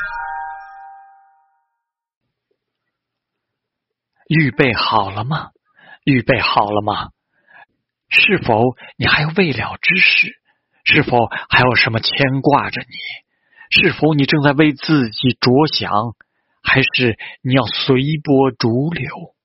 预备好了吗？预备好了吗？是否你还有未了之事？是否还有什么牵挂着你？是否你正在为自己着想？还是你要随波逐流？